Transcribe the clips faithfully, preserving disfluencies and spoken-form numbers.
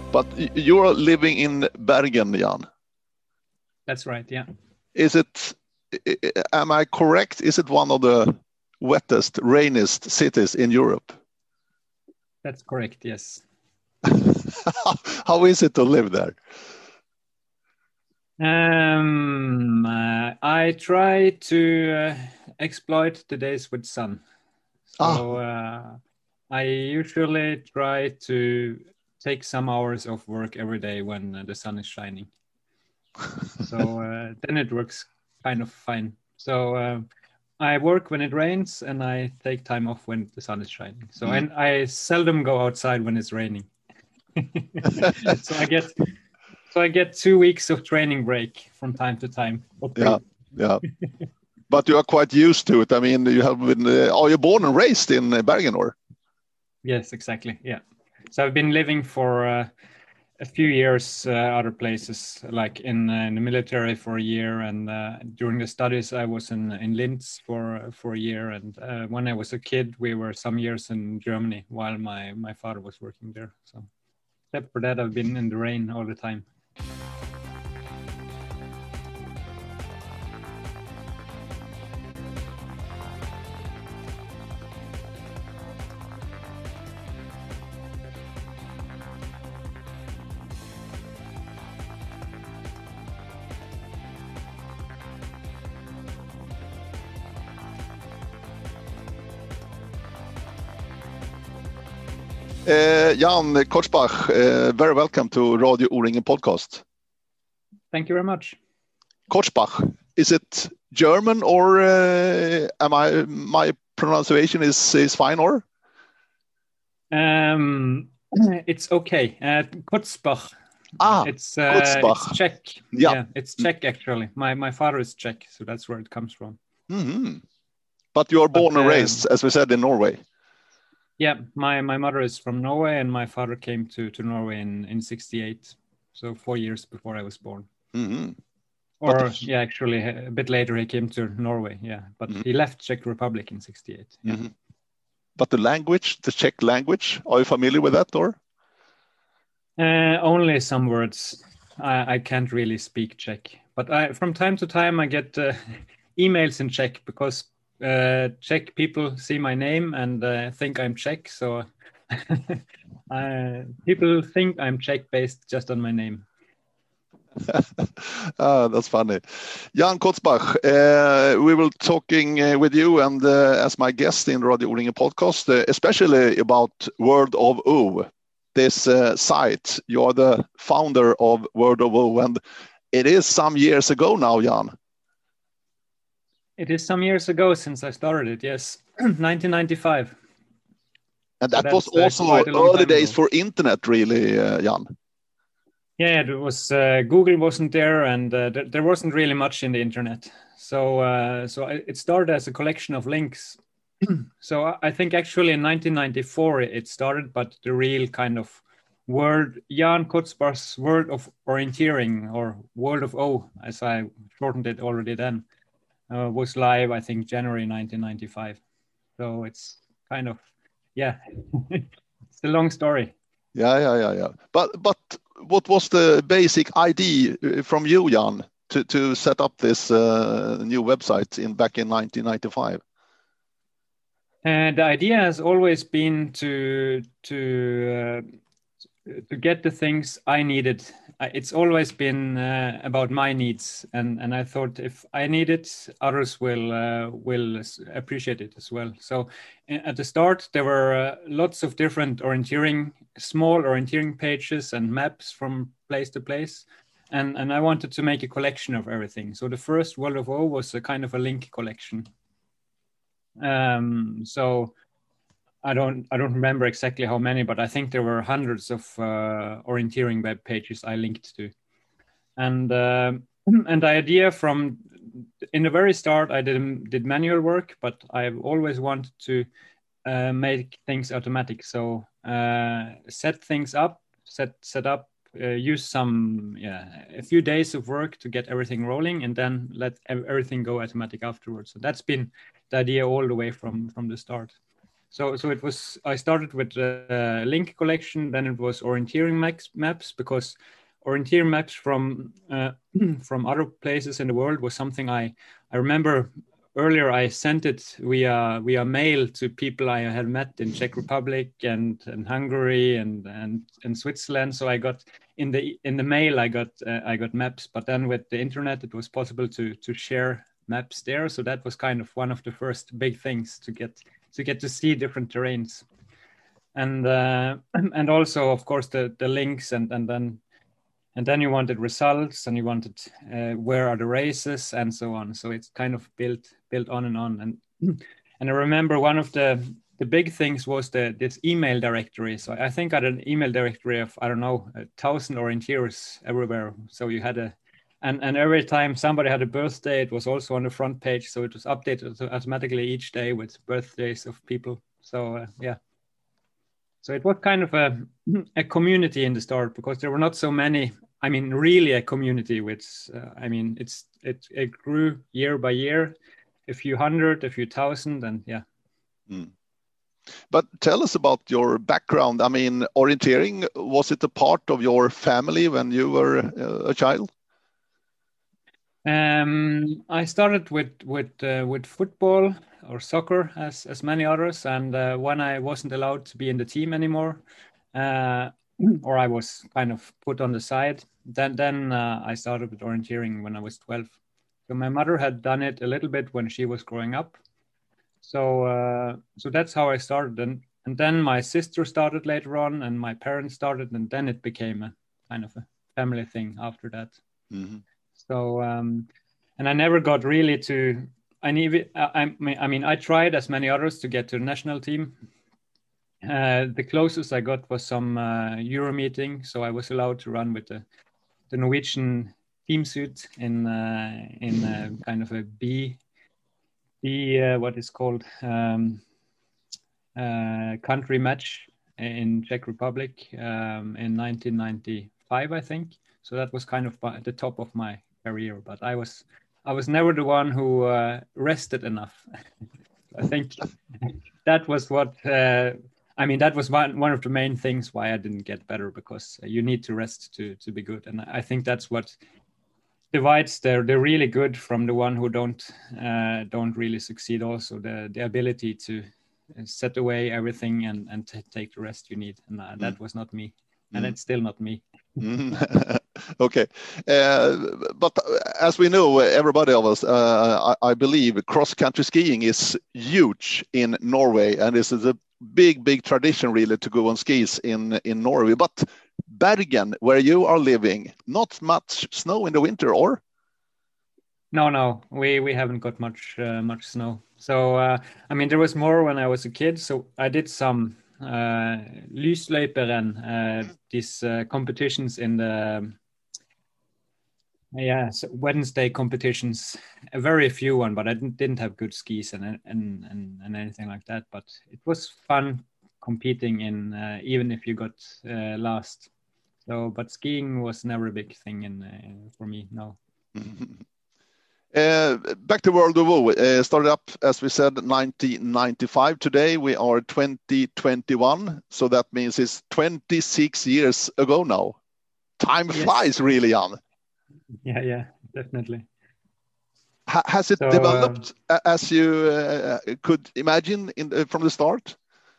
But you're living in Bergen, Jan. That's right, yeah. Is it, am I correct? Is it one of the wettest, rainiest cities in Europe? That's correct, yes. How is it to live there? Um, uh, I try to uh, exploit the days with sun. So uh, I usually try to take some hours of work every day when uh, the sun is shining. So uh, then it works kind of fine. So uh, I work when it rains and I take time off when the sun is shining. So mm. and I seldom go outside when it's raining. So I get so I get two weeks of training break from time to time. Yeah, yeah. But you are quite used to it. I mean, you have been. Uh, are you born and raised in uh, Bergen, or? Yes, exactly. Yeah. So I've been living for uh, a few years uh, other places, like in, uh, in the military for a year, and uh, during the studies I was in in Linz for for a year, and uh, when I was a kid we were some years in Germany while my my father was working there. So except for that, I've been in the rain all the time. Uh, Jan Kortzbach, uh, very welcome to Radio O-ringen podcast. Thank you very much. Kortzbach, is it German or uh, am I my pronunciation is is fine or? Um, it's okay. Uh, Kortzbach. Ah, it's uh, Kortzbach. It's Czech. Yeah. yeah, it's Czech actually. My my father is Czech, so that's where it comes from. Mm-hmm. But you are born but, and raised, um, as we said, in Norway. Yeah, my, my mother is from Norway and my father came to, to Norway in, in sixty-eight. So four years before I was born. Mm-hmm. Or, but, yeah, actually a bit later he came to Norway, yeah. But mm-hmm. he left Czech Republic in sixty-eight. Yeah. Mm-hmm. But the language, the Czech language, are you familiar with that or? Uh, only some words. I, I can't really speak Czech. But I, from time to time I get uh, emails in Czech because Uh, Czech people see my name and uh, think I'm Czech, so uh, people think I'm Czech based just on my name. Ah, that's funny. Jan Kortzbach, uh, we will talking uh, with you and uh, as my guest in Radio O-ringen podcast, uh, especially about World of O, this uh, site. You are the founder of World of O, and it is some years ago now, Jan. It is some years ago since I started it, yes, nineteen ninety-five. And that so was also uh, early days ago. For internet, really, uh, Jan. Yeah, it was. Uh, Google wasn't there, and uh, th- there wasn't really much in the internet. So, uh, so it started as a collection of links. So I think actually in nineteen ninety-four it started, but the real kind of word, Jan Kortzbach's World of Orienteering, or World of O, as I shortened it already then. Uh, was live, I think, January nineteen ninety-five. So it's kind of, yeah, it's a long story. Yeah, yeah, yeah, yeah. But but what was the basic idea from you, Jan, to to set up this uh, new website in back in nineteen ninety-five? And the idea has always been to to uh, to get the things I needed. It's always been uh, about my needs, and, and I thought if I need it, others will uh, will appreciate it as well. So at the start, there were uh, lots of different orienteering, small orienteering pages and maps from place to place, and and I wanted to make a collection of everything. So the first World of O was a kind of a link collection. Um, so. I don't I don't remember exactly how many, but I think there were hundreds of uh, orienteering web pages I linked to. And uh, and the idea from in the very start, I did did manual work, but I've always wanted to uh, make things automatic. So uh, set things up, set set up, uh, use some yeah a few days of work to get everything rolling, and then let everything go automatic afterwards. So that's been the idea all the way from from the start. So, so it was. I started with uh, link collection, then it was orienteering maps, maps because orienteering maps from uh, from other places in the world was something I I remember earlier. I sent it via via mail to people I had met in Czech Republic and, and Hungary and, and and Switzerland. So I got in the in the mail I got uh, I got maps, but then with the internet it was possible to to share maps there. So that was kind of one of the first big things to get to get to see different terrains, and uh, and also of course the the links and and then and then you wanted results and you wanted uh, where are the races and so on. So it's kind of built built on and on. And and I remember one of the the big things was the this email directory. So I think I had an email directory of I don't know a thousand orienteers everywhere. So you had a and and every time somebody had a birthday, it was also on the front page. So it was updated automatically each day with birthdays of people. So uh, yeah. So it was kind of a, a community in the start because there were not so many. I mean, really a community. Which uh, I mean, it's it it grew year by year, a few hundred, a few thousand, and yeah. Mm. But tell us about your background. I mean, orienteering, was it a part of your family when you were uh, a child? Um, I started with with uh, with football or soccer, as as many others, and uh, when I wasn't allowed to be in the team anymore, uh, or I was kind of put on the side, then then uh, I started with orienteering when I was twelve. So my mother had done it a little bit when she was growing up, so uh, so that's how I started, and and then my sister started later on, and my parents started, and then it became a kind of a family thing after that. Mm-hmm. So, um, and I never got really to, I need, I, I mean, I tried as many others to get to the national team. Uh, the closest I got was some uh, Euro meeting. So I was allowed to run with the, the Norwegian team suit in, uh, in a kind of a B, B uh, what is called um, uh, country match in Czech Republic um, in nineteen ninety-five, I think. So that was kind of at the top of my career, but I was I was never the one who uh, rested enough. I think that was what uh, I mean. That was one one of the main things why I didn't get better, because you need to rest to to be good, and I think that's what divides the the really good from the one who don't uh, don't really succeed. Also, the the ability to set away everything and and t- take the rest you need, and uh, that mm. was not me, and mm. it's still not me. Okay, uh, but as we know, everybody of us, uh, I, I believe cross-country skiing is huge in Norway, and this is a big, big tradition really to go on skis in in Norway. But Bergen, where you are living, not much snow in the winter, or? No, no, we we haven't got much uh, much snow. So uh, I mean, there was more when I was a kid. So I did some uh, lysløyperen, uh, these uh, competitions in the yeah so Wednesday competitions. A very few one, but I didn't didn't have good skis and and and, and anything like that. But it was fun competing in uh, even if you got uh, last. So, but skiing was never a big thing in uh, for me. No. Uh, back to World of O, uh, started up, as we said, nineteen ninety-five. Today we are twenty twenty-one, so that means it's twenty-six years ago now. Time yes. flies, really, Jan. Yeah, yeah, definitely. Ha has it so, developed um, as you uh, could imagine in the, from the start?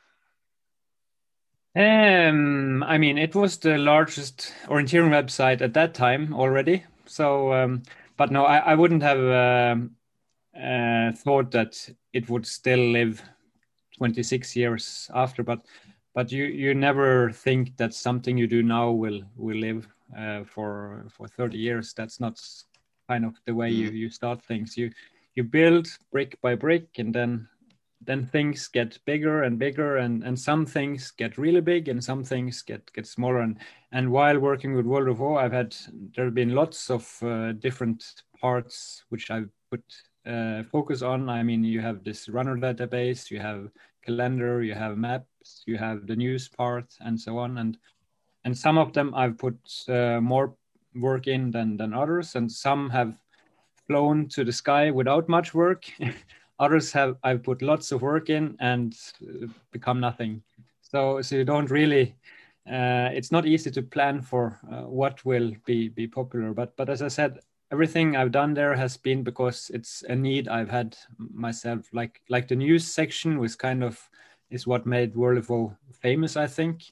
Um, I mean, it was the largest orienteering website at that time already. So. Um, But no, I, I wouldn't have uh, uh, thought that it would still live twenty-six years after. But but you, you never think that something you do now will will live uh, for for thirty years. That's not kind of the way mm. you, you start things. You you build brick by brick, and then then things get bigger and bigger, and, and some things get really big, and some things get, get smaller. And, and while working with World of O, I've had there have been lots of uh, different parts which I've put uh, focus on. I mean, you have this runner database, you have calendar, you have maps, you have the news part, and so on. And and some of them I've put uh, more work in than than others, and some have flown to the sky without much work. Others have I've put lots of work in and become nothing. So so you don't really. Uh, it's not easy to plan for uh, what will be be popular. But but as I said, everything I've done there has been because it's a need I've had myself. Like like the news section was kind of is what made World of WoW famous, I think.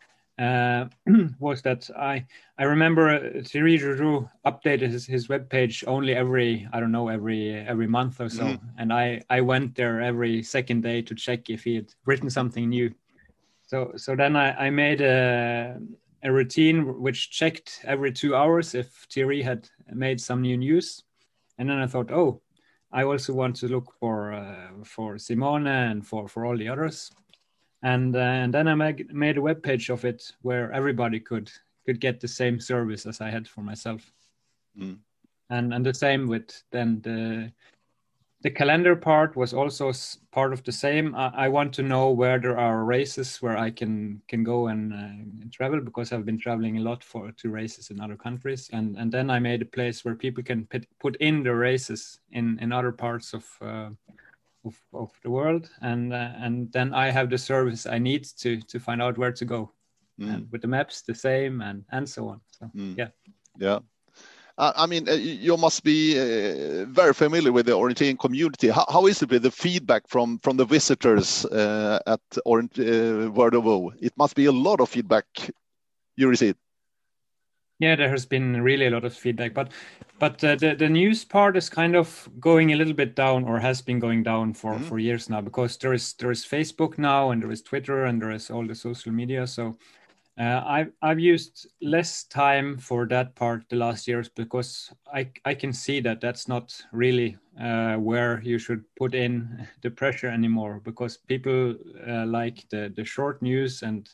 Uh, was that I I remember uh, Thierry Giroux updated his, his webpage only every I don't know every every month or so, mm. and I I went there every second day to check if he had written something new. So so then I, I made a a routine which checked every two hours if Thierry had made some new news, and then I thought, oh, I also want to look for uh, for Simone and for for all the others. And, uh, and then I made, made a web page of it where everybody could could get the same service as I had for myself. Mm. And and the same with then the the calendar part was also part of the same. I, I want to know where there are races where I can can go and, uh, and travel, because I've been traveling a lot for to races in other countries. And and then I made a place where people can put, put in the races in in other parts of. Uh, Of, of the world, and uh, and then I have the service I need to to find out where to go, mm. and with the maps the same, and and so on. So mm. yeah, yeah. Uh, I mean, uh, you must be uh, very familiar with the orienteering community. How, how is it with the feedback from from the visitors uh, at Orient, uh, World of WoW? It must be a lot of feedback you receive. Yeah, there has been really a lot of feedback, but but uh, the the news part is kind of going a little bit down, or has been going down for mm-hmm. for years now, because there is there is Facebook now, and there is Twitter, and there is all the social media. So uh, I've I've used less time for that part the last years, because I I can see that that's not really uh, where you should put in the pressure anymore, because people uh, like the the short news and.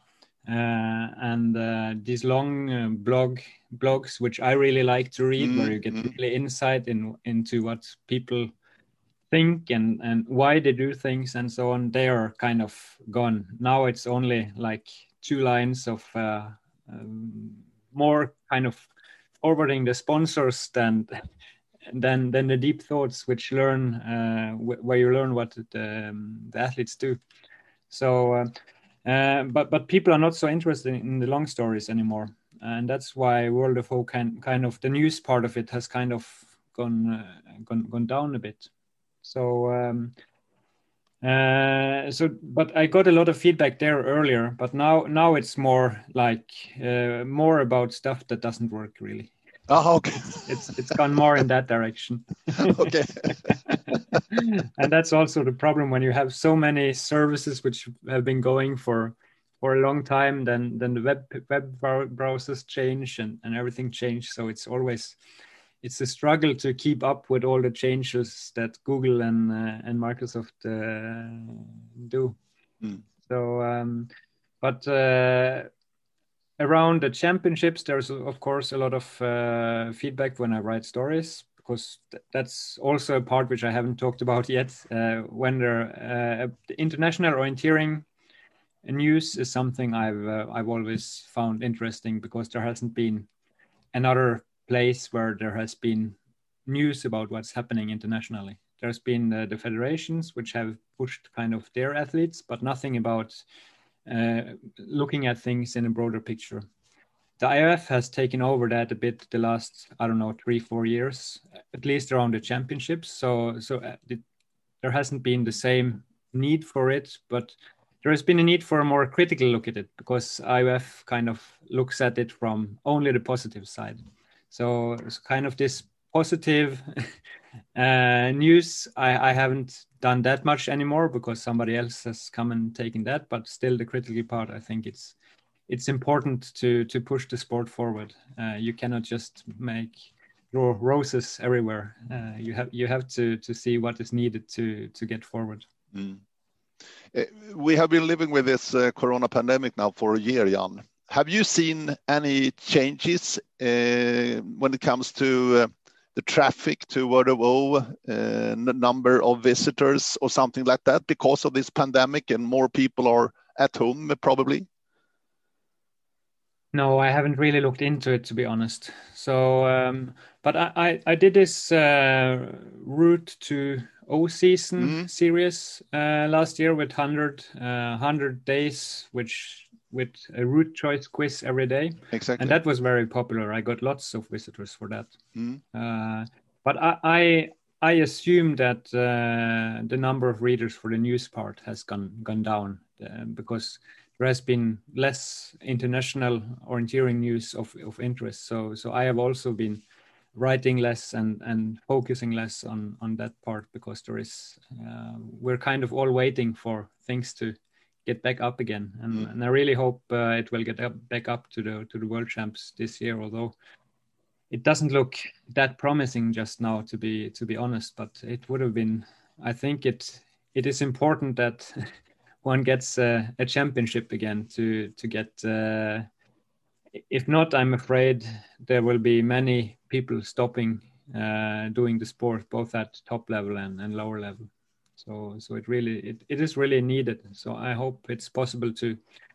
Uh, and uh, these long uh, blog blogs, which I really like to read, mm, where you get mm. really insight in into what people think and and why they do things and so on, they are kind of gone. Now it's only like two lines of uh, um, more kind of forwarding the sponsors than than than the deep thoughts, which learn uh, wh- where you learn what the, um, the athletes do. So. Uh, Uh, but but people are not so interested in the long stories anymore, and that's why World of WoW can kind of the news part of it has kind of gone uh, gone gone down a bit. So um, uh, so but I got a lot of feedback there earlier, but now now it's more like uh, more about stuff that doesn't work really. Oh, okay. It's it's gone more in that direction. Okay. And that's also the problem when you have so many services which have been going for for a long time. Then then the web web browsers change and, and everything change. So it's always it's a struggle to keep up with all the changes that Google and uh, and Microsoft uh, do. Mm. So, um, but. Uh, Around the championships, there's of course a lot of uh, feedback when I write stories, because th- that's also a part which I haven't talked about yet. Uh, when there, uh, the international orienteering news is something I've uh, I've always found interesting, because there hasn't been another place where there has been news about what's happening internationally. There's been uh, the federations which have pushed kind of their athletes, but nothing about Uh, looking at things in a broader picture. The I O F has taken over that a bit the last, I don't know, three, four years, at least around the championships. So, so uh, it, there hasn't been the same need for it, but there has been a need for a more critical look at it, because I O F kind of looks at it from only the positive side. So it's kind of this positive uh, news. I, I haven't done that much anymore, because somebody else has come and taken that. But still, the critical part, I think it's it's important to to push the sport forward. Uh, you cannot just make ro- roses everywhere. Uh, you have you have to to see what is needed to to get forward. Mm. Uh, we have been living with this uh, corona pandemic now for a year, Jan. Have you seen any changes uh, when it comes to uh, the traffic to World of WoW, uh, number of visitors or something like that, because of this pandemic and more people are at home probably? No, I haven't really looked into it, to be honest. So, um, but I, I, I did this uh, Route to O season Mm, series uh, last year with one hundred, uh, one hundred days, which with a route choice quiz every day. And exactly. that was very popular. I got lots of visitors for that. Mm, Uh, but I, I, I assume that uh, the number of readers for the news part has gone gone down uh, because there has been less international orienteering news of, of interest. So so I have also been writing less and and focusing less on on that part because there is uh, we're kind of all waiting for things to get back up again, and, mm, and I really hope uh, it will get up, back up to the to the world champs this year. Although it doesn't look that promising just now, to be to be honest, but it would have been. I think it it is important that one gets uh, a championship again to to get. Uh, if not, I'm afraid there will be many people stopping uh, doing the sport, both at top level and, and lower level. So so it really it, it is really needed. So I hope it's possible to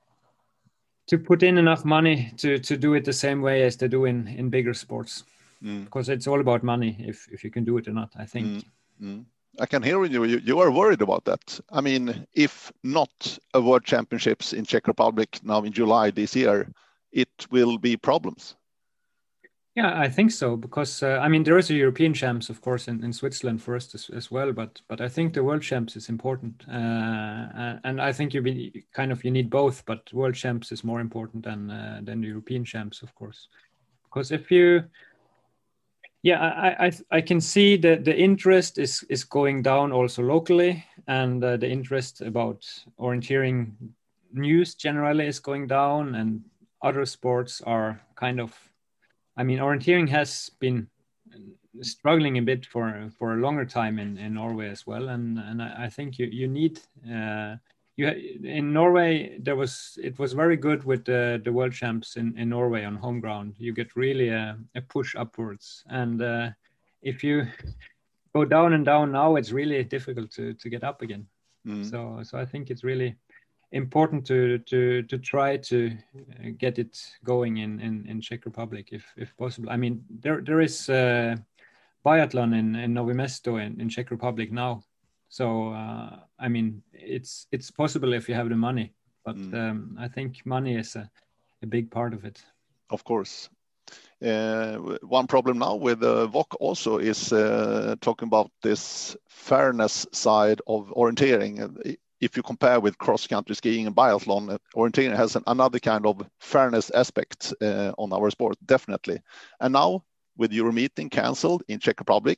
to put in enough money to to do it the same way as they do in in bigger sports, mm, because it's all about money if if you can do it or not, I think. mm, mm. I can hear you, you. You are worried about that. I mean, if not a World Championships in Czech Republic now in July this year, it will be problems. Yeah, I think so, because uh, I mean there is a European champs, of course, in, in Switzerland first as, as well, but but I think the world champs is important, uh, and I think you be kind of you need both, but world champs is more important than uh, than the European champs, of course, because if you yeah, I, I I can see that the interest is is going down also locally, and uh, the interest about orienteering news generally is going down, and other sports are kind of. I mean, orienteering has been struggling a bit for for a longer time in, in Norway as well, and and I, I think you you need. Uh, you in Norway there was it was very good with the, the world champs in, in Norway on home ground. You get really a, a push upwards, and uh, if you go down and down now, it's really difficult to, to get up again. Mm. So so I think it's really important to to to try to get it going in in, in Czech Republic if if possible. I mean there there is uh, biathlon in in Novi Mesto in, in Czech Republic now. So uh, I mean it's it's possible if you have the money, but Mm. um, I think money is a, a big part of it. Of course. Uh, one problem now with uh, V O C also is uh, talking about this fairness side of orienteering. If you compare with cross-country skiing and biathlon, orienteering has an, another kind of fairness aspect uh, on our sport, definitely. And now with Euromeeting cancelled in Czech Republic,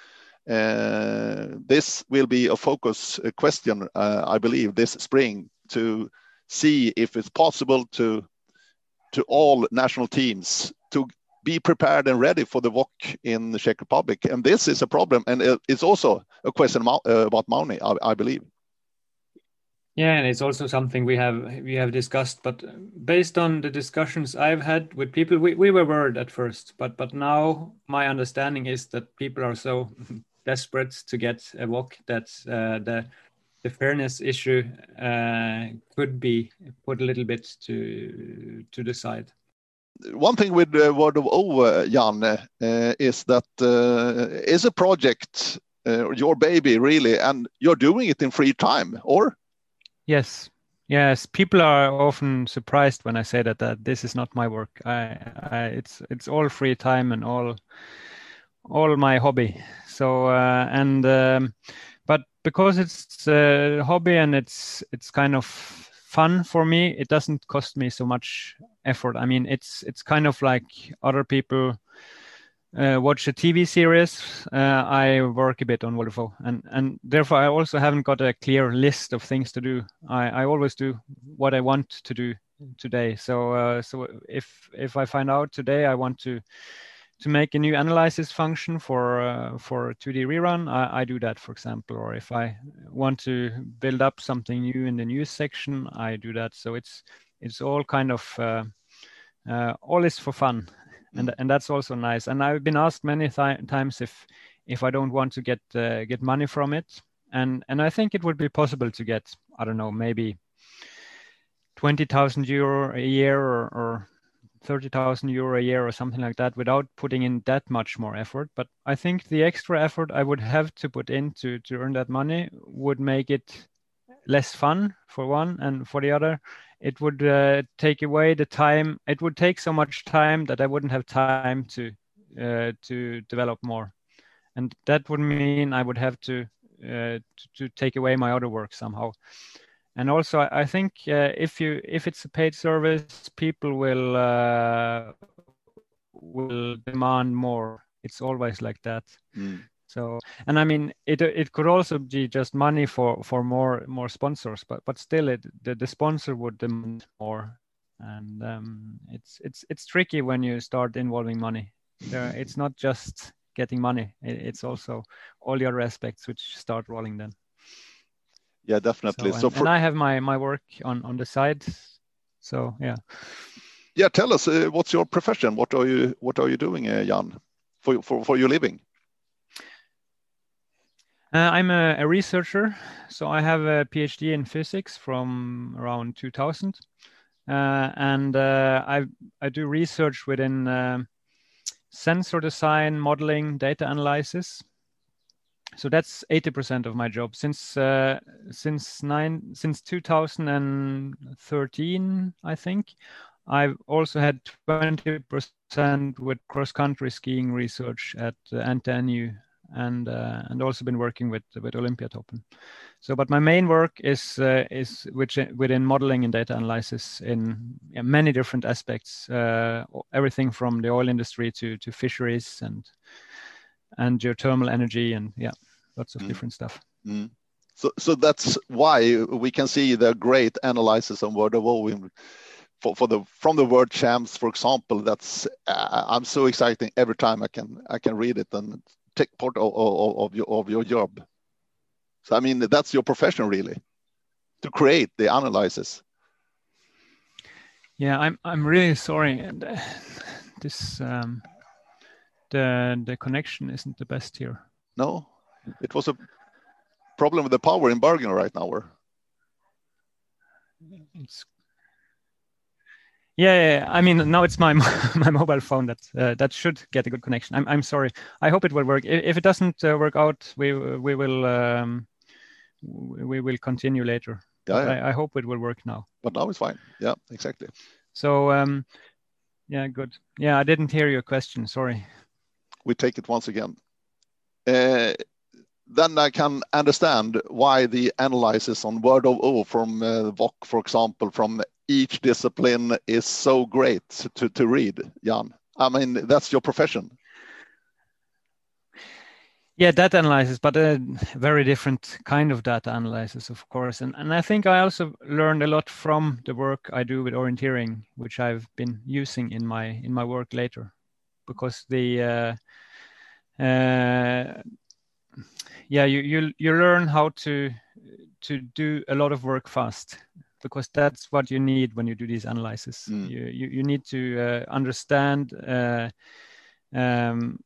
uh, this will be a focus a question, uh, I believe, this spring to see if it's possible to to all national teams to be prepared and ready for the V O C in the Czech Republic. And this is a problem. And it's also a question about money, I, I believe. Yeah, and it's also something we have we have discussed. But based on the discussions I've had with people, we, we were worried at first, but but now my understanding is that people are so desperate to get a V O C that uh, the the fairness issue uh, could be put a little bit to to the side. One thing with uh, World of O, uh, Jan, uh, is that uh, is a project uh, your baby really, and you're doing it in free time, or? Yes, yes. People are often surprised when I say that that this is not my work. I, I it's it's all free time and all all my hobby. So uh, and um, but because it's a hobby and it's it's kind of fun for me, it doesn't cost me so much effort. I mean, it's it's kind of like other people uh, watch a T V series. Uh, I work a bit on Volvo, and and therefore I also haven't got a clear list of things to do. I, I always do what I want to do today. So uh, so if if I find out today I want to to make a new analysis function for uh, for two D rerun, I, I do that, for example. Or if I want to build up something new in the news section, I do that. So it's it's all kind of uh, uh, all is for fun, and and that's also nice. And I've been asked many th- times if if I don't want to get uh, get money from it, and and I think it would be possible to get, I don't know, maybe twenty thousand euro a year or, or thirty thousand euro a year or something like that without putting in that much more effort. But I think the extra effort I would have to put in to, to earn that money would make it less fun for one, and for the other, it would uh, take away the time. It would take so much time that I wouldn't have time to uh, to develop more, and that would mean I would have to uh, to, to take away my other work somehow. And also, I, I think uh, if you if it's a paid service, people will uh, will demand more. It's always like that. Mm. So, and I mean, it it could also be just money for, for more more sponsors, but but still, it the, the sponsor would demand more, and um, it's it's it's tricky when you start involving money. There, it's not just getting money; it, it's also all the other aspects which start rolling then. Yeah, definitely. So, So, and, for, and I have my my work on on the side. So yeah. Yeah, tell us uh, what's your profession? What are you what are you doing, uh, Jan, for for for your living? Uh, I'm a, a researcher, so I have a PhD in physics from around two thousand, uh, and uh, I I do research within uh, sensor design, modeling, data analysis. So that's eighty percent of my job. Since uh, since nine since two thousand thirteen, I think, I've also had twenty percent with cross-country skiing research at uh, N T N U, and uh, and also been working with with Olympiatoppen. So, but my main work is uh, is which within modeling and data analysis in yeah, many different aspects, uh, everything from the oil industry to to fisheries and and geothermal energy, and yeah, lots of mm. different stuff. Mm. So, so that's why we can see the great analysis on World of O. For, for the from the World Champs, for example. That's uh, I'm so exciting every time I can I can read it and take part of, of, of your of your job. So I mean that's your profession really, to create the analysis. Yeah, I'm I'm really sorry, and uh, this um, the the connection isn't the best here. No, it was a problem with the power in Bergen right now. Or it's yeah, yeah, I mean now it's my my mobile phone that uh, that should get a good connection. I'm I'm sorry. I hope it will work. If it doesn't uh, work out, we we will um, we will continue later. Yeah, yeah. I, I hope it will work now. But now it's fine. Yeah, exactly. So um, yeah, good. Yeah, I didn't hear your question. Sorry. We take it once again. Uh, then I can understand why the analysis on Word of O from uh, V O C, for example, from each discipline is so great to, to read, Jan. I mean, that's your profession. Yeah, data analysis, but a very different kind of data analysis, of course. And and I think I also learned a lot from the work I do with orienteering, which I've been using in my in my work later, because the uh, uh, yeah you you you learn how to to do a lot of work fast, because that's what you need when you do these analysis. Mm. You, you you need to uh, understand uh, um,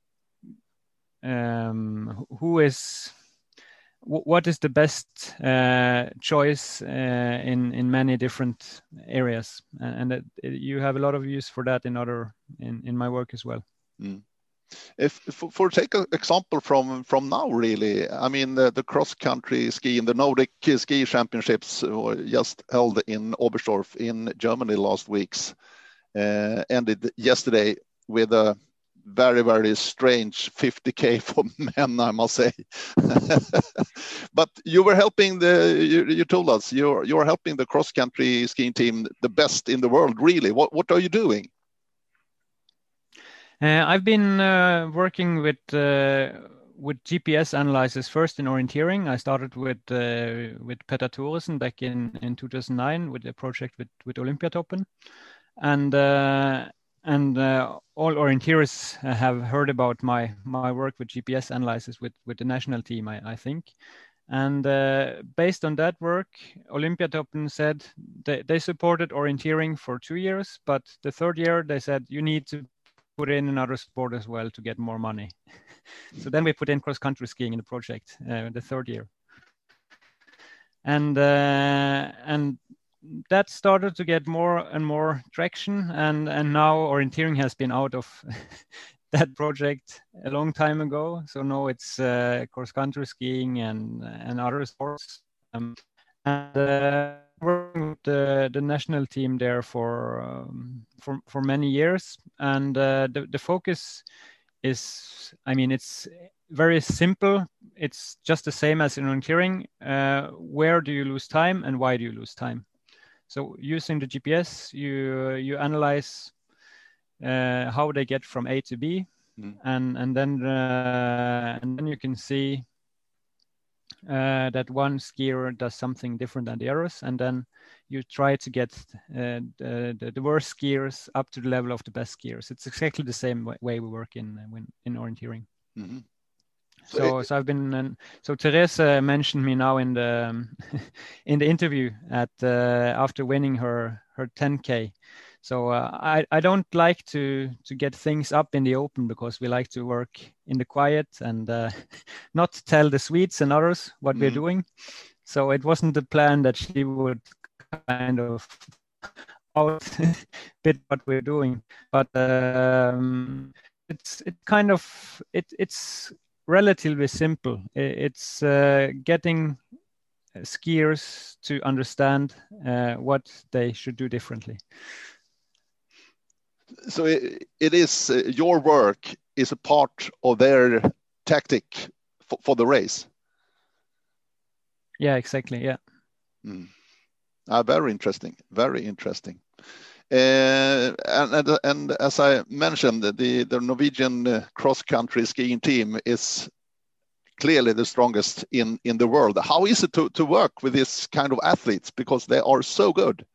um, who is w- what is the best uh, choice uh, in in many different areas, and that you have a lot of use for that in other in in my work as well. Mm. If for, for take an example from from now, really, I mean the, the cross country skiing, the Nordic ski championships were just held in Oberstdorf in Germany last weeks, uh, ended yesterday with a very very strange fifty K for men, I must say. But you were helping the you, you told us you're you're helping the cross country skiing team, the best in the world, really. What what are you doing? Uh, I've been uh, working with uh, with G P S analysis first in orienteering. I started with uh, with Petter Thoresen back in, in two thousand nine with a project with with Olympiatoppen, and uh, and uh, all orienteers have heard about my my work with G P S analysis with with the national team, I, I think. And uh, based on that work, Olympiatoppen said they, they supported orienteering for two years, but the third year they said you need to put in another sport as well to get more money. So then we put in cross-country skiing in the project, uh, the third year. And uh, and that started to get more and more traction, and and now orienteering has been out of that project a long time ago. So now it's uh, cross country skiing and and other sports. Um, and uh, working with the, the national team there for um, for for many years, and uh, the the focus is, I mean, it's very simple. It's just the same as in orienteering. Uh, where do you lose time and why do you lose time? So using the G P S, you you analyze uh, how they get from A to B, mm. and and then uh, and then you can see uh, that one skier does something different than the others, and then you try to get uh, the, the worst skiers up to the level of the best skiers. It's exactly the same way we work in in, in orienteering. Mm-hmm. So, so, it, so I've been. Um, so Teresa mentioned me now in the um, in the interview at uh, after winning her her ten K. So uh, I I don't like to to get things up in the open, because we like to work in the quiet and uh, not tell the Swedes and others what mm-hmm. we're doing. So it wasn't the plan that she would kind of out bit what we're doing, but um, it's it kind of it it's. relatively simple. It's uh, getting skiers to understand uh, what they should do differently. So it, it is uh, your work is a part of their tactic for, for the race. Yeah, exactly. Yeah. Mm. Uh, very interesting. Very interesting. Uh, and, and and as I mentioned, the the Norwegian uh, cross country skiing team is clearly the strongest in in the world. How is it to to work with this kind of athletes, because they are so good?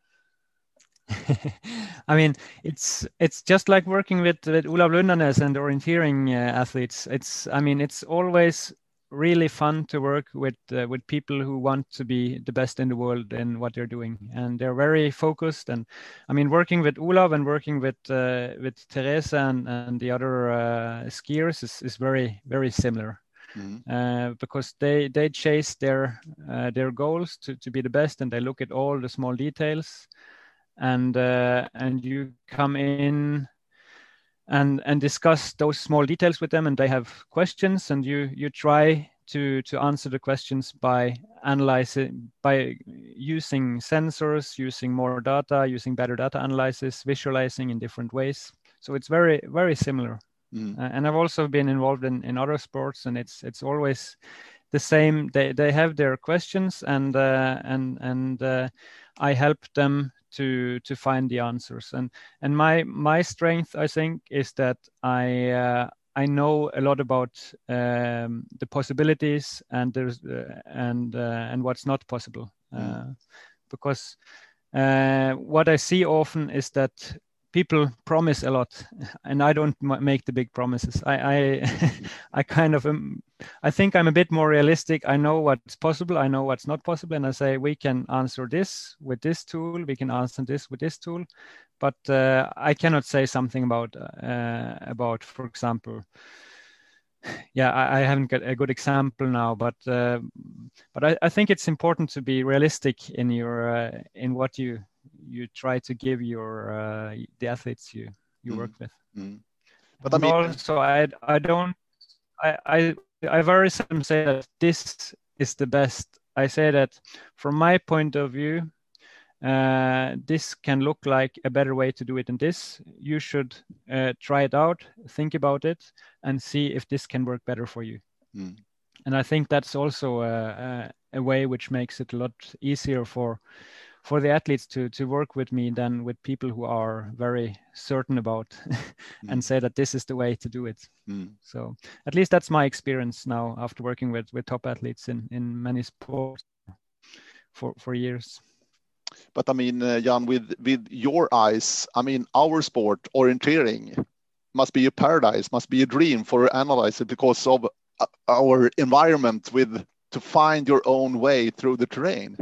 I mean, it's it's just like working with, with Olav Lundanes and orienteering uh, athletes. It's I mean, it's always really fun to work with uh, with people who want to be the best in the world in what they're doing, and they're very focused. And I mean, working with Olav and working with uh, with Teresa and, and the other uh, skiers is, is very very similar. Mm-hmm. uh, because they they chase their uh, their goals to, to be the best, and they look at all the small details, and uh, and you come in and and discuss those small details with them, and they have questions, and you you try to to answer the questions by analyzing, by using sensors, using more data, using better data analysis, visualizing in different ways. So it's very very similar. Mm. Uh, and I've also been involved in in other sports, and it's it's always the same. They they have their questions, and uh, and and uh, I help them to to find the answers. And and my my strength, I think, is that I uh, I know a lot about um, the possibilities and there's uh, and uh, and what's not possible. Mm. Uh, because uh, what I see often is that people promise a lot, and I don't m- make the big promises. I I, I kind of um, I think I'm a bit more realistic. I know what's possible. I know what's not possible, and I say we can answer this with this tool. We can answer this with this tool, but uh, I cannot say something about uh, about, for example. Yeah, I, I haven't got a good example now, but uh, but I, I think it's important to be realistic in your uh, in what you. you try to give your uh, the athletes you you mm. work with. Mm. But and I mean, also I I don't I, I I very seldom say that this is the best. I say that from my point of view, uh, this can look like a better way to do it than this. You should uh, try it out, think about it, and see if this can work better for you. Mm. And I think that's also a, a, a way which makes it a lot easier for for the athletes to to work with me than with people who are very certain about and mm. say that this is the way to do it. Mm. So at least that's my experience now after working with with top athletes in in many sports for for years. But I mean, uh, Jan, with with your eyes, I mean, our sport, orienteering, must be a paradise, must be a dream for an analyzer because of our environment with to find your own way through the terrain.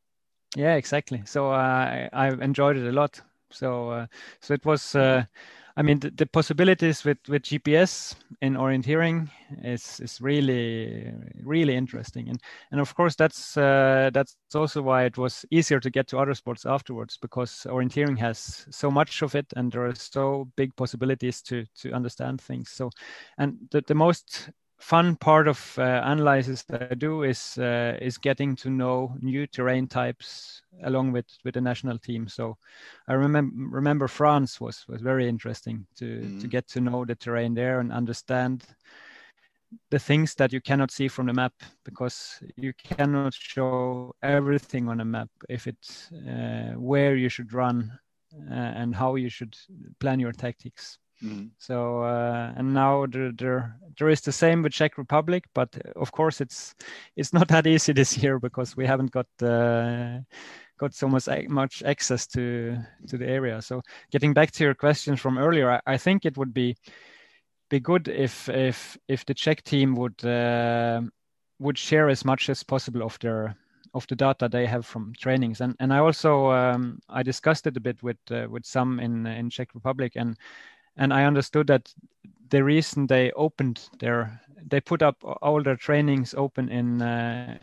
Yeah, exactly. So uh, I, I've enjoyed it a lot. So uh, so it was. Uh, I mean, the, the possibilities with, with G P S in orienteering is is really really interesting, and and of course that's uh, that's also why it was easier to get to other sports afterwards, because orienteering has so much of it, and there are so big possibilities to to understand things. So, and the the most fun part of uh, analysis that I do is uh, is getting to know new terrain types along with with the national team. So I remember remember France was was very interesting to mm. to get to know the terrain there and understand the things that you cannot see from the map, because you cannot show everything on a map if it's uh, where you should run uh, and how you should plan your tactics. Mm. So uh, and now there, there there is the same with Czech Republic, but of course it's it's not that easy this year because we haven't got uh, got so much much access to to the area. So getting back to your questions from earlier, I, I think it would be be good if if if the Czech team would uh, would share as much as possible of their of the data they have from trainings. And and I also um, I discussed it a bit with uh, with some in in Czech Republic, and and I understood that the reason they opened their they put up all their trainings open in uh,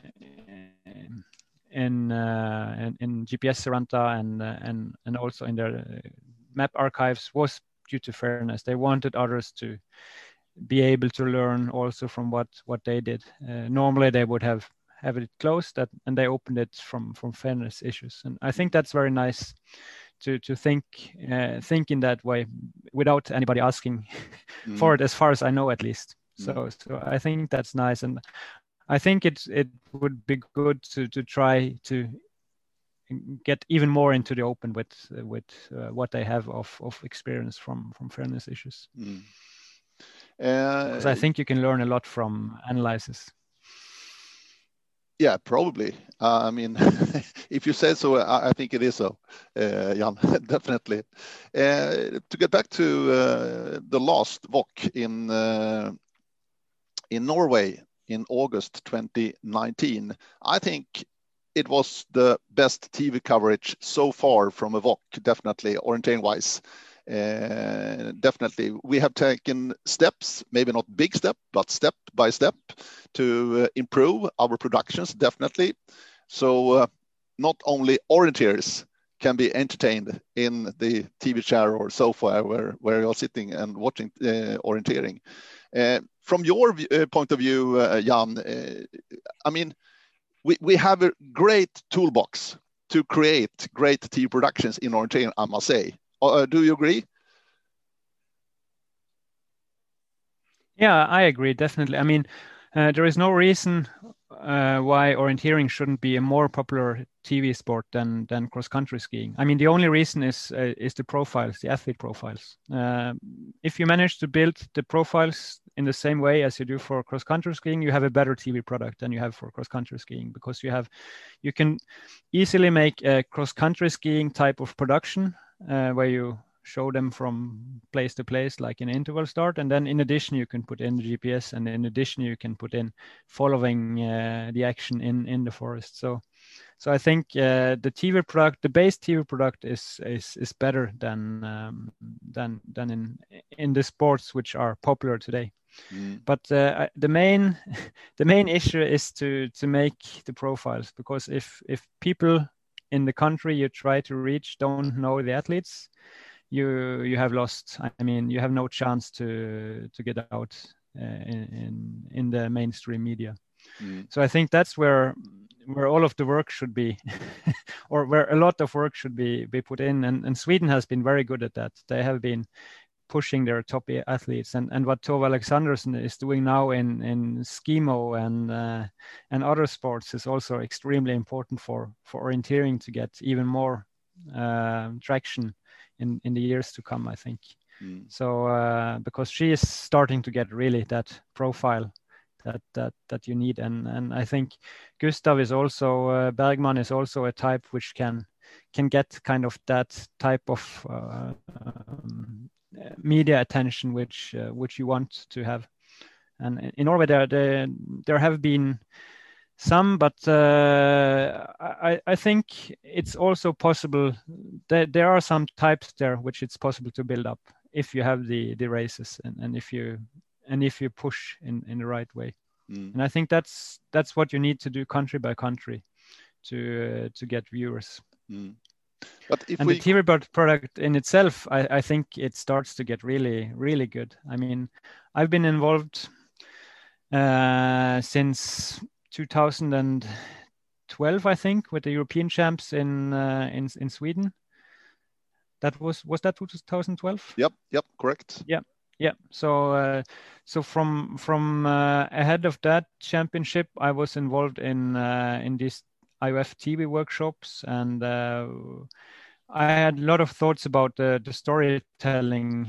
in, uh, in in G P S Saranta and uh, and and also in their map archives was due to fairness. They wanted others to be able to learn also from what what they did. Uh, normally they would have have it closed, that, and they opened it from from fairness issues. And I think that's very nice to to think uh, think in that way without anybody asking mm. for it, as far as I know, at least. Mm. So so I think that's nice, and I think it it would be good to to try to get even more into the open with uh, with uh, what they have of of experience from from fairness issues. Mm. Uh, because I think you can learn a lot from analysis. Yeah, probably. Uh, I mean, if you say so, I, I think it is so, uh, Jan, definitely. Uh, to get back to uh, the last V O C in uh, in Norway in August twenty nineteen, I think it was the best T V coverage so far from a V O C, definitely, orienteering-wise. Uh, definitely, we have taken steps, maybe not big step, but step by step to uh, improve our productions, definitely. So uh, not only orienteers can be entertained in the T V chair or sofa where, where you're sitting and watching uh, orienteering. Uh, from your uh, point of view, uh, Jan, uh, I mean, we, we have a great toolbox to create great T V productions in orienteering, I must say. Uh, do you agree? Yeah, I agree, definitely. I mean, uh, there is no reason uh, why orienteering shouldn't be a more popular T V sport than than cross-country skiing. I mean, the only reason is uh, is the profiles, the athlete profiles. Uh, if you manage to build the profiles in the same way as you do for cross-country skiing, you have a better T V product than you have for cross-country skiing, because you have you can easily make a cross-country skiing type of production uh, where you show them from place to place, like an interval start, and then in addition you can put in the G P S, and in addition you can put in following uh, the action in in the forest. So so I think uh, the T V product, the base T V product is is is better than um, than than in in the sports which are popular today. Mm. But uh, the main the main issue is to to make the profiles, because if if people in the country you try to reach don't know the athletes, you you have lost. I mean, you have no chance to to get out uh, in, in in the mainstream media. Mm. So I think that's where where all of the work should be, or where a lot of work should be be put in. And, and Sweden has been very good at that. They have been pushing their top athletes, and and what Tove Alexandersen is doing now in in skimo and uh, and other sports is also extremely important for for orienteering to get even more uh, traction in in the years to come, I think. Mm. So uh, because she is starting to get really that profile that that that you need, and and I think Gustav is also uh, Bergman is also a type which can can get kind of that type of uh, um, media attention which uh, which you want to have. And in Norway there there, there have been some, but uh, I, I think it's also possible that there are some types there which it's possible to build up. if you have the the races and, and if you and if you push in in the right way. Mm. And I think that's that's what you need to do country by country to uh, to get viewers. Mm. But if and we... the T V product in itself, I, I think it starts to get really, really good. I mean, I've been involved uh, since two thousand twelve, I think, with the European champs in uh, in in Sweden. That was was that two thousand twelve? Yep, yep, correct. Yeah, yeah. So uh, so from from uh, ahead of that championship, I was involved in uh, in these I O F T V workshops, and uh, I had a lot of thoughts about the, the storytelling,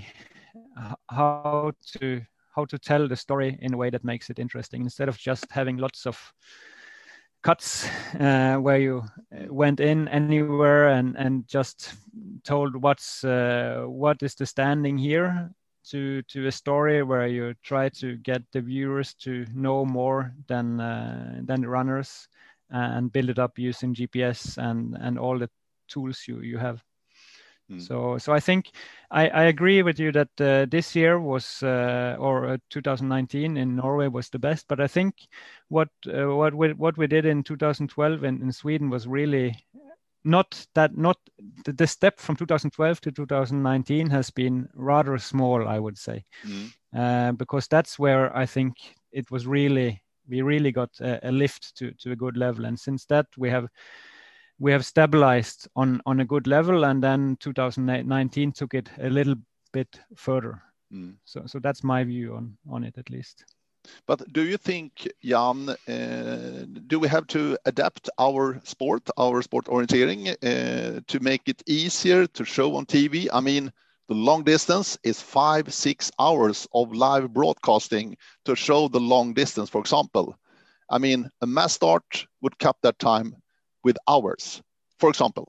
how to how to tell the story in a way that makes it interesting, instead of just having lots of cuts uh, where you went in anywhere and, and just told what's uh, what is the standing here, to to a story where you try to get the viewers to know more than uh, than the runners, and build it up using G P S and and all the tools you you have. Mm. So so I think I, I agree with you that uh, this year was uh, or uh, two thousand nineteen in Norway was the best, but I think what uh, what we what we did in two thousand twelve in, in Sweden was really not that not the, the step from two thousand twelve to two thousand nineteen has been rather small, I would say. Mm. uh, because that's where I think it was really we really got a, a lift to to a good level, and since that we have we have stabilized on on a good level, and then two thousand nineteen took it a little bit further. Mm. So so that's my view on on it, at least. But do you think, Jan, uh, do we have to adapt our sport, our sport orienteering, uh, to make it easier to show on T V? I mean, the long distance is five, six hours of live broadcasting to show the long distance, for example. I mean, a mass start would cut that time with hours, for example.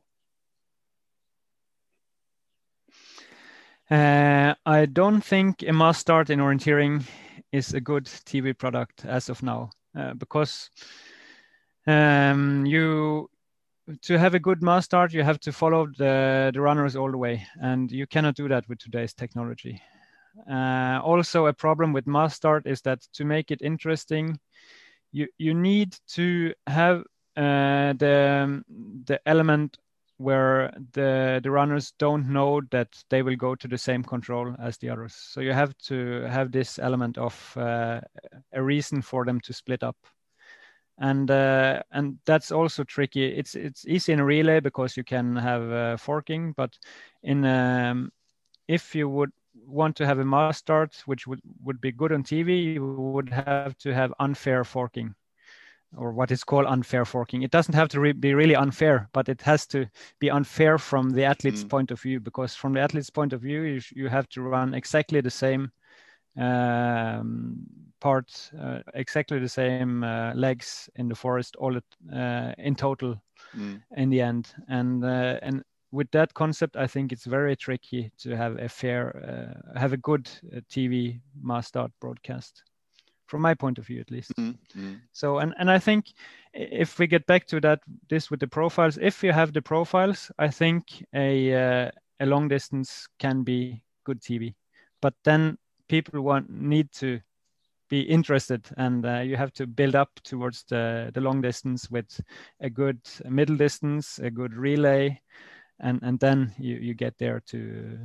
Uh, I don't think a mass start in orienteering is a good T V product as of now, uh, because um, you to have a good mass start, you have to follow the, the runners all the way, and you cannot do that with today's technology. Uh, also, a problem with mass start is that to make it interesting, you you need to have uh, the the element where the the runners don't know that they will go to the same control as the others. So you have to have this element of uh, a reason for them to split up, and uh, and that's also tricky. It's it's easy in a relay because you can have uh, forking, but in um, if you would want to have a mass start, which would would be good on T V, you would have to have unfair forking, or what is called unfair forking. It doesn't have to re- be really unfair, but it has to be unfair from the athlete's mm. point of view, because from the athlete's point of view, you, sh- you have to run exactly the same um, part, uh, exactly the same uh, legs in the forest, all it, uh, in total mm. in the end. And uh, and with that concept, I think it's very tricky to have a fair, uh, have a good uh, T V mass start broadcast, from my point of view, at least. Mm-hmm. So, and, and I think if we get back to that, this with the profiles, if you have the profiles, I think a uh, a long distance can be good T V. But then people want need to be interested, and uh, you have to build up towards the, the long distance with a good middle distance, a good relay, and, and then you, you get there to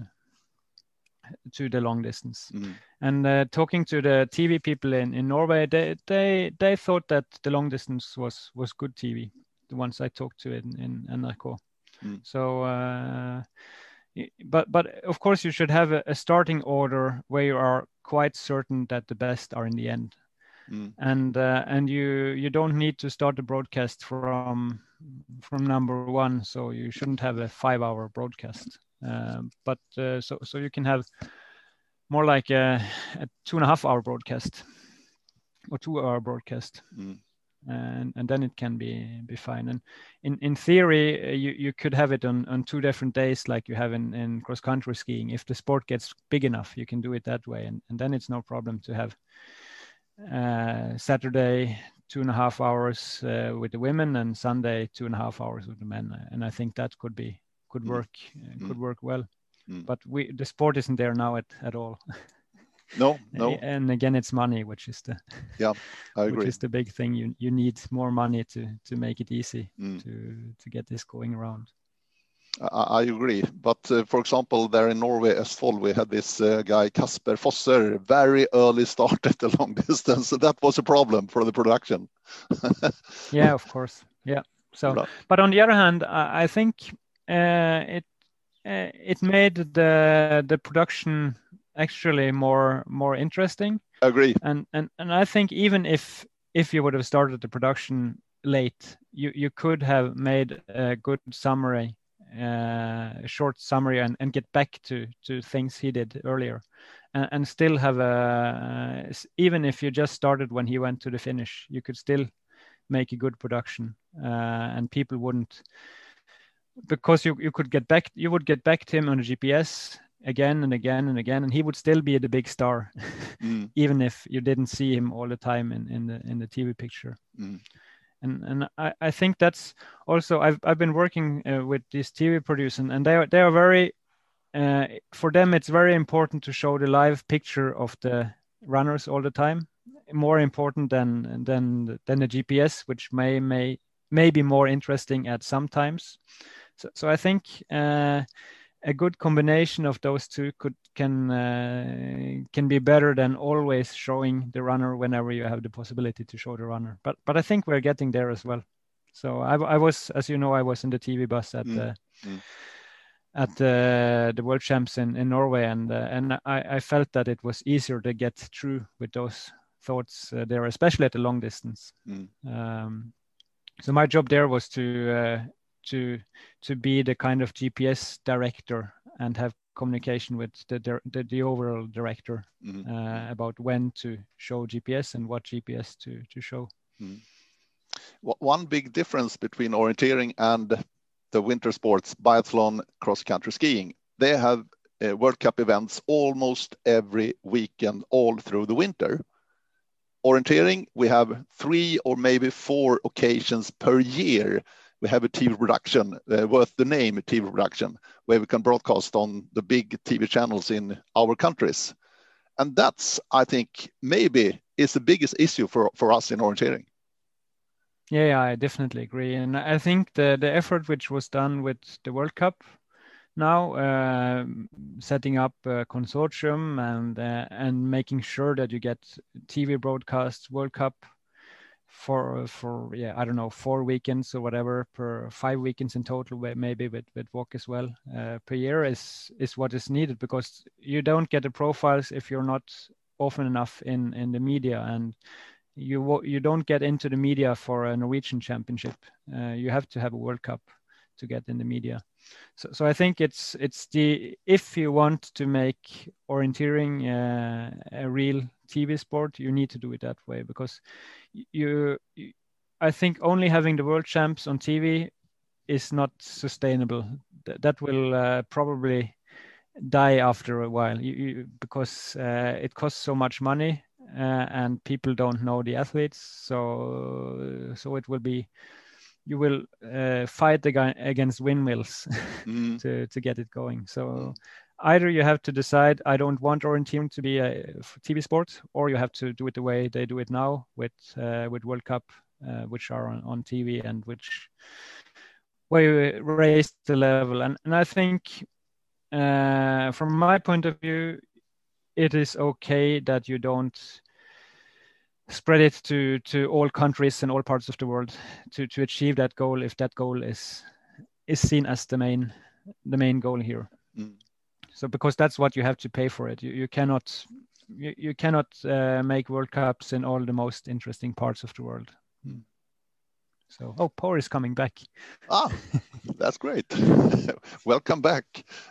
to the long distance. Mm. And uh, talking to the T V people in, in Norway, they, they they thought that the long distance was was good T V, the ones I talked to in, in N R K. Mm. So, uh, but but of course you should have a, a starting order where you are quite certain that the best are in the end. Mm. And uh, and you you don't need to start the broadcast from from number one, so you shouldn't have a five hour broadcast. Um, but uh, so so you can have more like a, a two and a half hour broadcast or two hour broadcast, mm. and and then it can be be fine. And in in theory, uh, you you could have it on on two different days, like you have in in cross country skiing. If the sport gets big enough, you can do it that way, and and then it's no problem to have uh, Saturday two and a half hours uh, with the women, and Sunday two and a half hours with the men. And I think that could be could work mm. uh, could mm. work well. Mm. But we the sport isn't there now at, at all. No, no. And again, it's money, which is the yeah, I agree. Which is the big thing. You you need more money to to make it easy mm. to to get this going around. I, I agree, but uh, for example, there in Norway, Østfold, we had this uh, guy Kasper Fosser, very early started the long distance, so that was a problem for the production. Yeah, of course. Yeah. So, right. But on the other hand, I, I think uh, it uh, it made the the production actually more more interesting. I agree. And and and I think even if if you would have started the production late, you you could have made a good summary, uh, a short summary, and, and get back to to things he did earlier, and, and still have a uh, even if you just started when he went to the finish, you could still make a good production, uh, and people wouldn't, because you you could get back you would get back to him on the G P S again and again and again, and he would still be the big star, mm. even if you didn't see him all the time in, in the in the T V picture. Mm. And and I, I think that's also I've I've been working uh, with these T V producers, and, and they are they are very uh, for them it's very important to show the live picture of the runners all the time, more important than than than the G P S, which may may may be more interesting at some times. So so I think. Uh, A good combination of those two could can uh, can be better than always showing the runner whenever you have the possibility to show the runner. But but I think we're getting there as well. So I, I was, as you know, I was in the T V bus at mm. the mm. at the the World Champs in, in Norway, and uh, and I, I felt that it was easier to get through with those thoughts uh, there, especially at the long distance. Mm. Um, so my job there was to. Uh, to to be the kind of G P S director and have communication with the the, the overall director mm-hmm. uh, about when to show G P S and what G P S to to show. Mm. One big difference between orienteering and the winter sports, biathlon, cross-country skiing, they have uh, World Cup events almost every weekend all through the winter. Orienteering, we have three or maybe four occasions per year. We have a T V production uh, worth the name T V production, where we can broadcast on the big T V channels in our countries. And that's, I think, maybe is the biggest issue for, for us in orienteering. Yeah, yeah, I definitely agree. And I think the, the effort which was done with the World Cup now, uh, setting up a consortium and uh, and making sure that you get T V broadcasts World Cup for for yeah I don't know four weekends or whatever per five weekends in total, maybe with with W O C as well uh, per year is is what is needed, because you don't get the profiles if you're not often enough in in the media, and you you don't get into the media for a Norwegian championship. Uh, you have to have a World Cup to get in the media. So so I think it's it's the if you want to make orienteering uh, a real T V sport, you need to do it that way, because you, you I think only having the world champs on T V is not sustainable. Th- that will uh, probably die after a while, you, you, because uh, it costs so much money uh, and people don't know the athletes. So so it will be you will uh, fight against windmills mm. to to get it going. So. Mm. Either you have to decide, I don't want orienteering to be a T V sport, or you have to do it the way they do it now with uh, with World Cup, uh, which are on, on T V and which where you raise the level. And, and I think uh, from my point of view, it is okay that you don't spread it to, to all countries and all parts of the world to, to achieve that goal, if that goal is is seen as the main the main goal here. Mm. So because that's what you have to pay for it. You you cannot you, you cannot uh, make World Cups in all the most interesting parts of the world. Hmm. So oh, Por is coming back. Ah, that's great. Welcome back.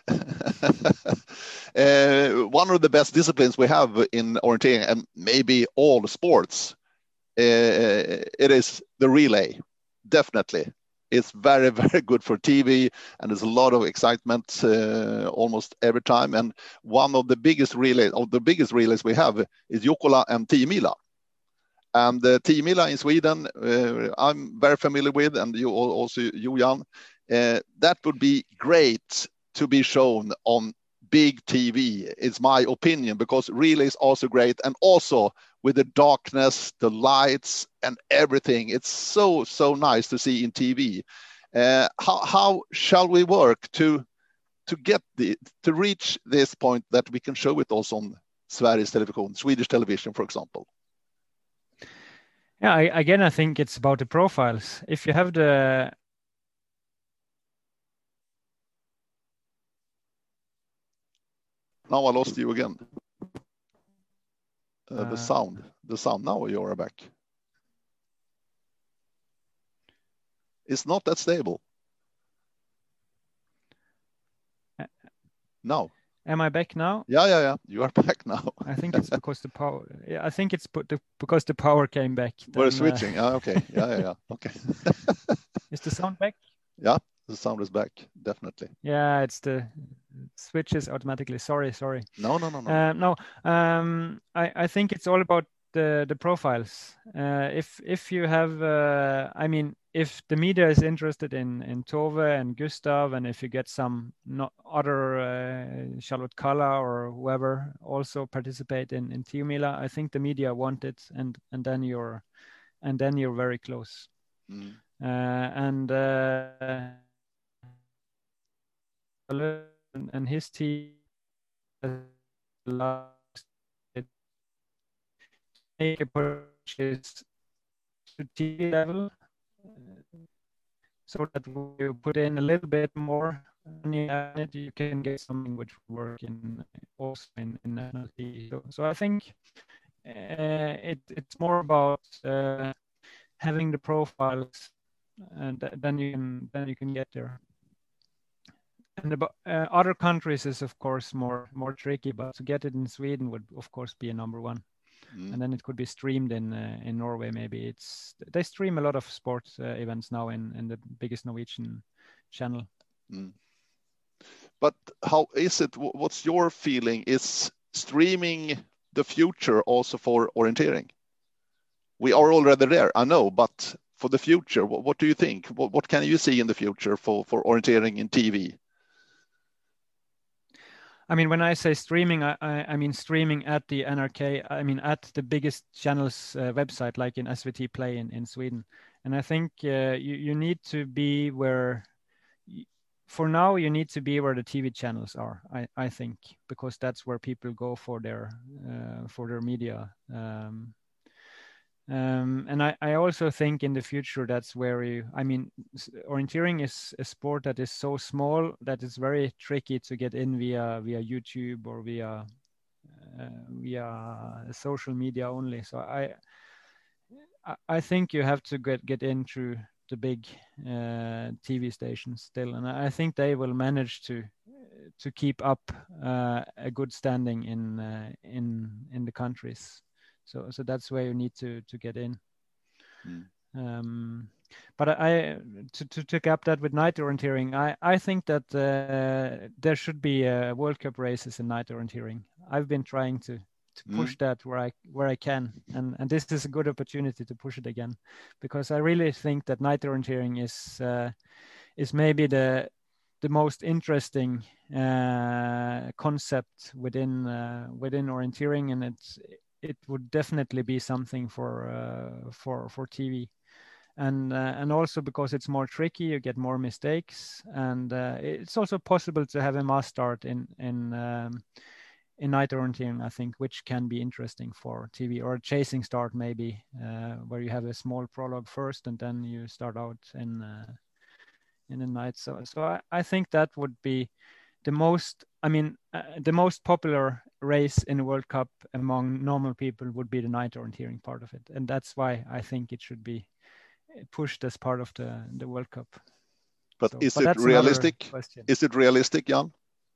uh, one of the best disciplines we have in orienteering, and maybe all sports, uh, it is the relay. Definitely. It's very, very good for T V, and there's a lot of excitement uh, almost every time. And one of the biggest relays, of the biggest relays we have is Jukkola and tio mila. And the tio mila in Sweden, uh, I'm very familiar with, and you also, you, Jan. Uh, that would be great to be shown on big T V. It's my opinion, because really it's also great. And also with the darkness, the lights and everything, it's so, so nice to see in T V. Uh, how, how shall we work to to get the to reach this point that we can show it also on Sveriges Television, Swedish television, for example? Yeah, I, again, I think it's about the profiles. If you have the Now I lost you again. Uh, uh, the sound, the sound. Now you are back. It's not that stable. No. Am I back now? Yeah, yeah, yeah. You are back now. I think it's because the power. Yeah, I think it's put the, because the power came back. We're Then, switching. Uh, ah, okay. Yeah, yeah, yeah. Okay. Is the sound back? Yeah, the sound is back. Definitely. Yeah, it's the switches automatically. Sorry, sorry. No, no, no, no. Uh, no, um, I, I think it's all about the the profiles. Uh, if if you have, uh, I mean, if the media is interested in in Tove and Gustav, and if you get some not other uh, Charlotte Kalla or whoever also participate in in Tiomila, I think the media want it, and and then you're and then you're very close. Mm. Uh, and uh, and his team make a purchase to T V level, uh, so that you put in a little bit more money on it, you can get something which will work in also in, in national T V. So, so I think uh, it, it's more about uh, having the profiles, and then you can then you can get there. And the uh, other countries is of course more more tricky, but to get it in Sweden would of course be a number one. Mm. And then it could be streamed in uh, in Norway. Maybe it's they stream a lot of sports uh, events now in in the biggest Norwegian channel. Mm. But how is it? What's your feeling? Is streaming the future also for orienteering? We are already there, I know, but for the future, what, what do you think? What, what can you see in the future for for orienteering in T V? I mean, when I say streaming, I, I, I mean streaming at the N R K, I mean at the biggest channel's uh, website, like in S V T Play in, in Sweden. And I think uh, you, you need to be where, for now, you need to be where the T V channels are, I, I think, because that's where people go for their, uh, for their media. Um, Um, and I, I also think in the future that's where you, I mean, orienteering is a sport that is so small that it's very tricky to get in via via YouTube or via uh, via social media only. So I I think you have to get get in through the big uh, T V stations still, and I think they will manage to to keep up uh, a good standing in uh, in in the countries. So, so that's where you need to to get in. Mm. Um, but I to to take up that with night orienteering, I I think that uh, there should be uh, World Cup races in night orienteering. I've been trying to to push mm. that where I where I can, and and this is a good opportunity to push it again, because I really think that night orienteering is uh, is maybe the the most interesting uh, concept within uh, within orienteering, and it's. It would definitely be something for uh, for for T V, and uh, and also because it's more tricky, you get more mistakes, and uh, it's also possible to have a mass start in in um, in night orienteering, I think, which can be interesting for T V, or a chasing start maybe, uh, where you have a small prologue first and then you start out in uh, in the night. So so I, I think that would be the most, I mean, uh, the most popular race in the World Cup among normal people would be the night orienteering part of it. And that's why I think it should be pushed as part of the, the World Cup. But so, is but it realistic? Is it realistic, Jan?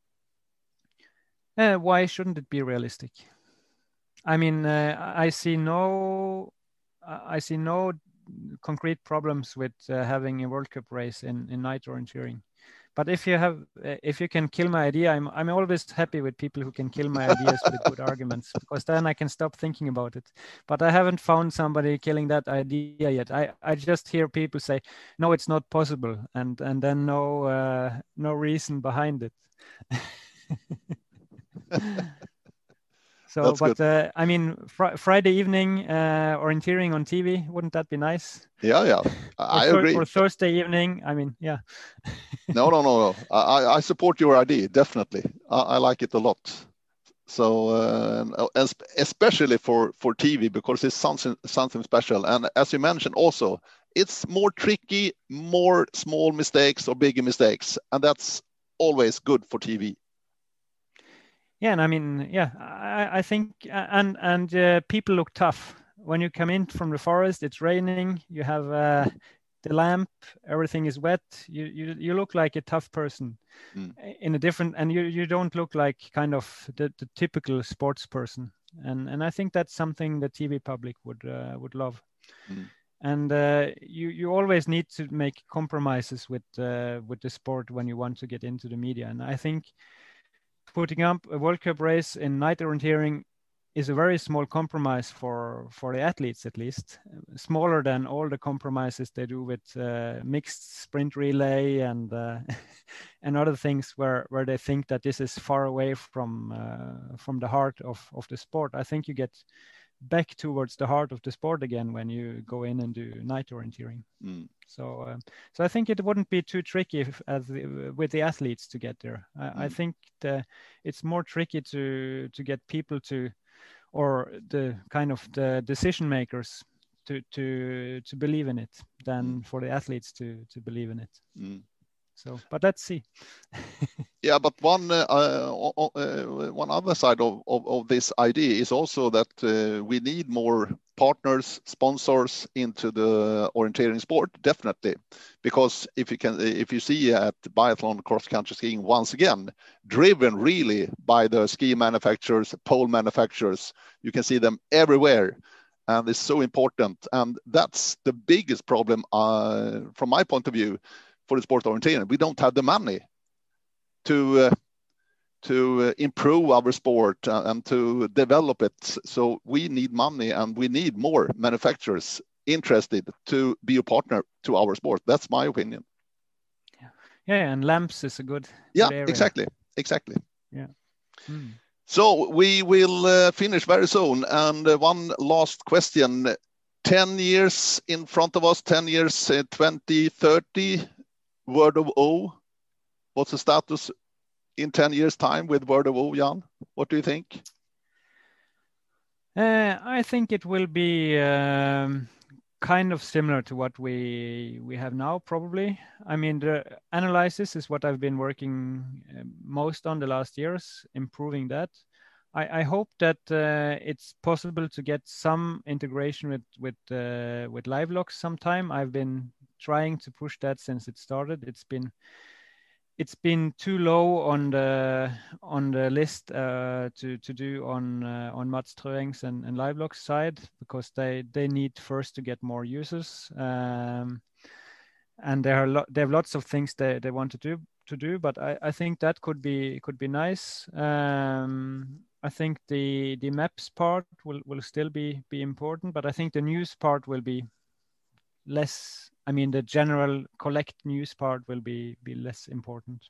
Uh, why shouldn't it be realistic? I mean, uh, I see no, I see no concrete problems with uh, having a World Cup race in, in night orienteering. But if you have, if you can kill my idea, I'm I'm always happy with people who can kill my ideas with good arguments, because then I can stop thinking about it. But I haven't found somebody killing that idea yet. I, I just hear people say, no, it's not possible, and and then no uh, no reason behind it. So, That's but good. uh, I mean, fr- Friday evening uh, orienteering on T V, wouldn't that be nice? Yeah, yeah, or I thir- agree. Or Thursday evening. I mean, yeah. no, no, no, no. I, I support your idea, definitely. I, I like it a lot. So, uh, especially for, for T V, because it's something, something special. And as you mentioned also, it's more tricky, more small mistakes or bigger mistakes. And that's always good for T V. Yeah, and I mean, yeah, I, I think, and and uh, people look tough when you come in from the forest. It's raining. You have uh, the lamp. Everything is wet. You you you look like a tough person mm. in a different, and you you don't look like kind of the, the typical sports person. And and I think that's something the T V public would uh, would love. Mm. And uh, you you always need to make compromises with uh, with the sport when you want to get into the media. And I think putting up a World Cup race in night orienteering is a very small compromise for for the athletes, at least smaller than all the compromises they do with uh, mixed sprint relay and uh, and other things where where they think that this is far away from uh, from the heart of of the sport. I think you get back towards the heart of the sport again when you go in and do night orienteering. Mm. So, uh, so I think it wouldn't be too tricky if, as the, with the athletes to get there. I, mm. I think the, it's more tricky to to get people to, or the kind of the decision makers to to to believe in it than mm. for the athletes to to believe in it. Mm. So, but let's see. Yeah, but one uh, uh, uh, one other side of, of, of this idea is also that uh, we need more partners, sponsors into the orienteering sport, definitely. Because if you can, if you see at biathlon cross-country skiing once again, driven really by the ski manufacturers, pole manufacturers, you can see them everywhere. And it's so important. And that's the biggest problem uh, from my point of view for the sport orienteering. We don't have the money to uh, to uh, improve our sport uh, and to develop it. So we need money and we need more manufacturers interested to be a partner to our sport. That's my opinion. Yeah, yeah, and lamps is a good, yeah, good area. exactly, exactly. Yeah. Hmm. So we will uh, finish very soon. And uh, one last question: ten years in front of us, ten years, uh, twenty thirty, Word of O. What's the status in ten years' time with Word of O, Jan? What do you think? Uh, I think it will be um, kind of similar to what we we have now, probably. I mean, the analysis is what I've been working most on the last years, improving that. I, I hope that uh, it's possible to get some integration with with uh, with LiveLox sometime. I've been trying to push that since it started. It's been it's been too low on the on the list uh, to to do on uh, on Mats Trøings and, and LiveLox side, because they they need first to get more users, um, and there are lo- they have lots of things they, they want to do to do. But I, I think that could be could be nice. Um, I think the the maps part will, will still be be important, but I think the news part will be less. I mean, the general collect news part will be be less important.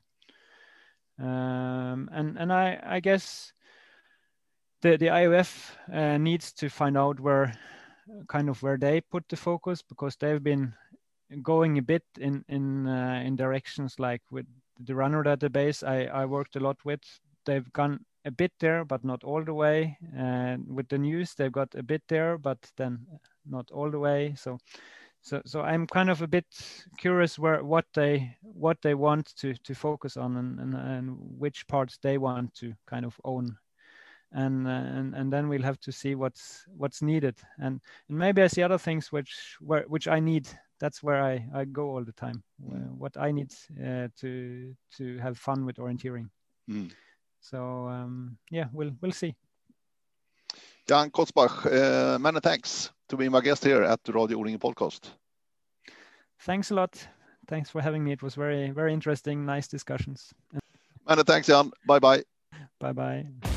Um, and and I I guess the the I O F uh, needs to find out where kind of where they put the focus, because they've been going a bit in in uh, in directions like with the runner database I I worked a lot with. They've gone a bit there, but not all the way. And with the news, they've got a bit there, but then not all the way. So. So, so I'm kind of a bit curious where what they what they want to to focus on, and, and, and which parts they want to kind of own, and uh, and and then we'll have to see what's what's needed, and and maybe I see other things which where which I need. That's where I, I go all the time. Mm. What I need uh, to to have fun with orienteering. Mm. So um, yeah, we'll we'll see. Jan Kotzbach, uh, many thanks to be my guest here at the Radio O-ringen podcast. Thanks a lot. Thanks for having me. It was very, very interesting, nice discussions. Many thanks, Jan. Bye-bye. Bye-bye.